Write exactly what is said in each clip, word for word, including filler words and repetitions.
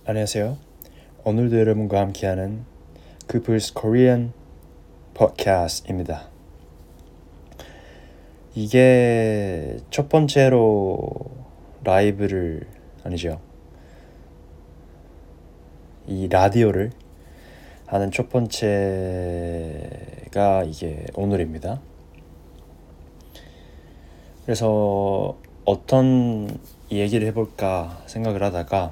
안녕하세요. 오늘도 여러분과 함께하는 그플스 코리안 팟캐스트입니다. 이게 첫 번째로 라이브를 아니죠. 이 라디오를 하는 첫 번째가 이게 오늘입니다. 그래서 어떤 얘기를 해볼까 생각을 하다가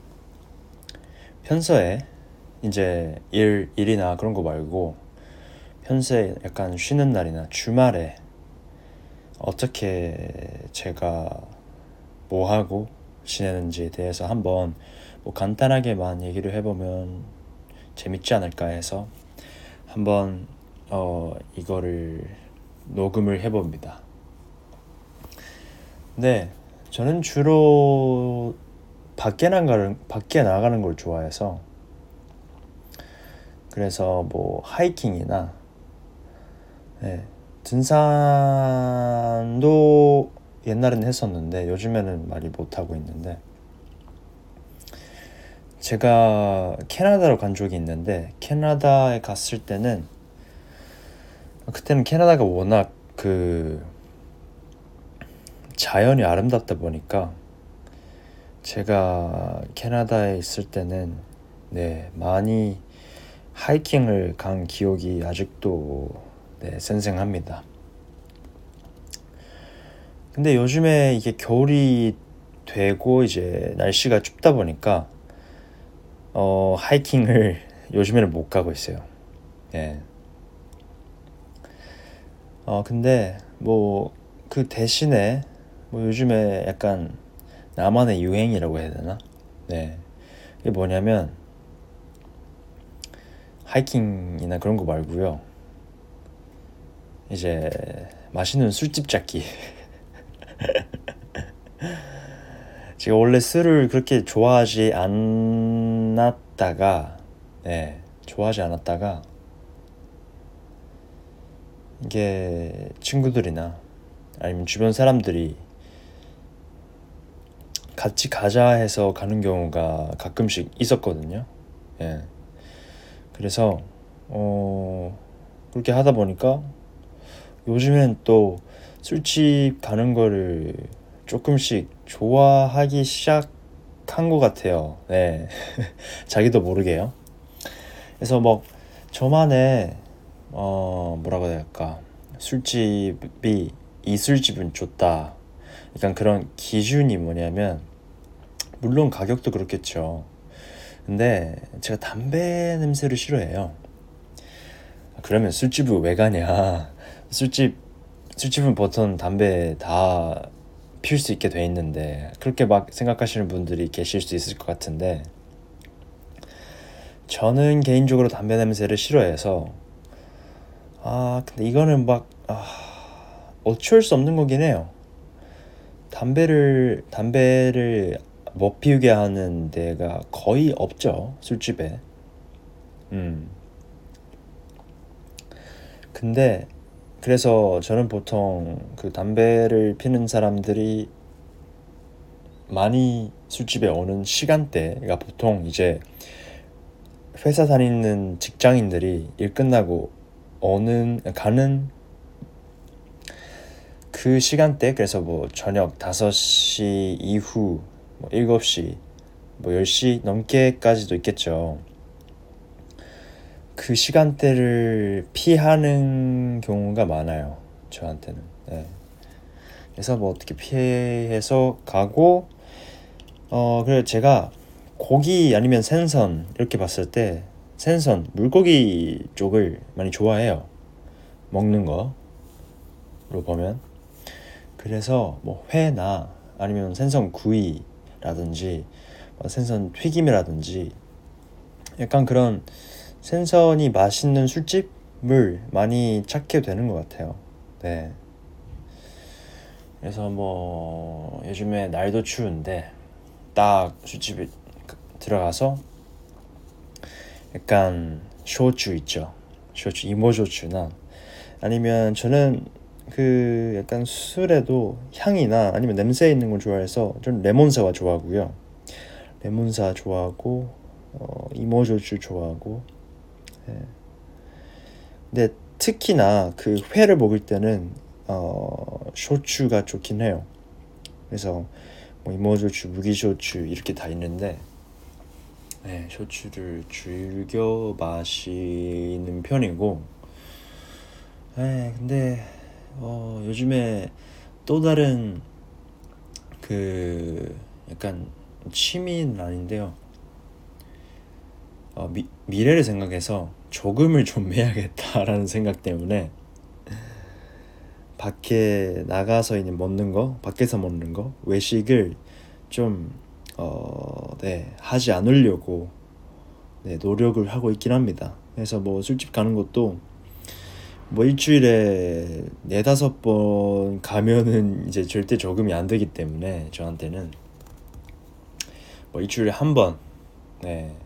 평소에 이제 일, 일이나 그런 거 말고 평소에 약간 쉬는 날이나 주말에 어떻게 제가 뭐 하고 지내는지에 대해서 한번 뭐 간단하게만 얘기를 해보면 재밌지 않을까 해서 한번 어 이거를 녹음을 해봅니다. 네, 저는 주로 밖에 나가는 밖에 나가는 걸 좋아해서 그래서 뭐 하이킹이나 네, 등산도 옛날에는 했었는데 요즘에는 많이 못 하고 있는데 제가 캐나다로 간 적이 있는데 캐나다에 갔을 때는 그때는 캐나다가 워낙 그 자연이 아름답다 보니까 제가 캐나다에 있을 때는 네, 많이 하이킹을 간 기억이 아직도 네, 생생합니다. 근데 요즘에 이게 겨울이 되고 이제 날씨가 춥다 보니까 어, 하이킹을 요즘에는 못 가고 있어요. 예. 어, 근데 뭐 그 대신에 뭐 요즘에 약간 나만의 유행이라고 해야 되나? 네. 이게 뭐냐면 하이킹이나 그런 거 말고요. 이제 맛있는 술집 찾기. 제가 원래 술을 그렇게 좋아하지 않았다가 네, 좋아하지 않았다가 이게 친구들이나 아니면 주변 사람들이 같이 가자 해서 가는 경우가 가끔씩 있었거든요. 예. 그래서 어 그렇게 하다 보니까 요즘엔 또 술집 가는 거를 조금씩 좋아하기 시작한 것 같아요. 네. 자기도 모르게요. 그래서 뭐 저만의 어 뭐라고 해야 될까, 술집이 이 술집은 좋다, 약간 그런 기준이 뭐냐면 물론 가격도 그렇겠죠. 근데 제가 담배 냄새를 싫어해요. 그러면 술집을 왜 가냐. 술집 술집은 보통 담배 다 피울 수 있게 돼 있는데 그렇게 막 생각하시는 분들이 계실 수 있을 것 같은데 저는 개인적으로 담배 냄새를 싫어해서 아 근데 이거는 막 아, 어쩔 수 없는 거긴 해요. 담배를 담배를 못 피우게 하는 데가 거의 없죠, 술집에. 음. 근데 그래서 저는 보통 그 담배를 피는 사람들이 많이 술집에 오는 시간대가 보통 이제 회사 다니는 직장인들이 일 끝나고 오는 가는 그 시간대. 그래서 뭐 저녁 다섯 시 이후 뭐 일곱 시 뭐 열 시 넘게까지도 있겠죠. 그 시간대를 피하는 경우가 많아요, 저한테는. 네. 그래서 뭐 어떻게 피해서 가고 어 그래 제가 고기 아니면 생선 이렇게 봤을 때 생선 물고기 쪽을 많이 좋아해요, 먹는 거로 보면. 그래서 뭐 회나 아니면 생선 구이라든지 뭐 생선 튀김이라든지 약간 그런 생선이 맛있는 술집을 많이 찾게 되는 것 같아요. 네. 그래서 뭐 요즘에 날도 추운데 딱 술집에 들어가서 약간 쇼주 있죠. 쇼주, 이모쇼주나 아니면 저는 그 약간 술에도 향이나 아니면 냄새 있는 걸 좋아해서 저는 레몬사와 좋아하고요. 레몬사 좋아하고 어, 이모저주 좋아하고. 예. 근데 특히나 그 회를 먹을 때는 어, 쇼추가 좋긴 해요. 그래서 뭐 이모저주, 무기쇼추 이렇게 다 있는데 네, 쇼추를 즐겨 마시는 편이고. 네, 근데 어, 요즘에 또 다른 그 약간 취미는 아닌데요. 어, 미, 미래를 생각해서 조금을 좀 해야겠다라는 생각 때문에 밖에 나가서 이제 먹는 거, 밖에서 먹는 거, 외식을 좀 어, 네, 하지 않으려고 네, 노력을 하고 있긴 합니다. 그래서 뭐 술집 가는 것도 뭐 일주일에 네다섯 번 가면은 이제 절대 적응이 안 되기 때문에 저한테는 뭐 일주일에 한 번, 네,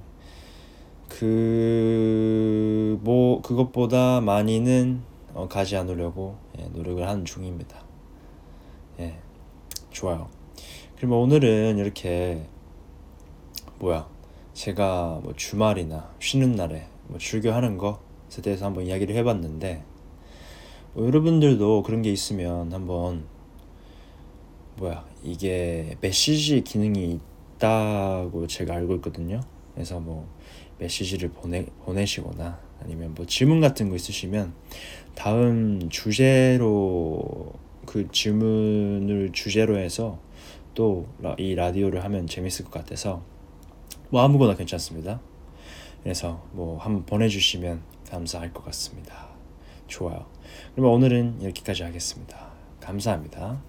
그 뭐 그것보다 많이는 어, 가지 않으려고 예, 노력을 하는 중입니다. 예, 좋아요. 그럼 오늘은 이렇게 뭐야 제가 뭐 주말이나 쉬는 날에 뭐 즐겨하는 것에 대해서 한번 이야기를 해봤는데 뭐 여러분들도 그런 게 있으면 한번 뭐야 이게 메시지 기능이 있다고 제가 알고 있거든요. 그래서 뭐 메시지를 보내 보내시거나 아니면 뭐 질문 같은 거 있으시면 다음 주제로 그 질문을 주제로 해서 또 이 라디오를 하면 재밌을 것 같아서 뭐 아무거나 괜찮습니다. 그래서 뭐 한번 보내주시면 감사할 것 같습니다. 좋아요. 그러면 오늘은 여기까지 하겠습니다. 감사합니다.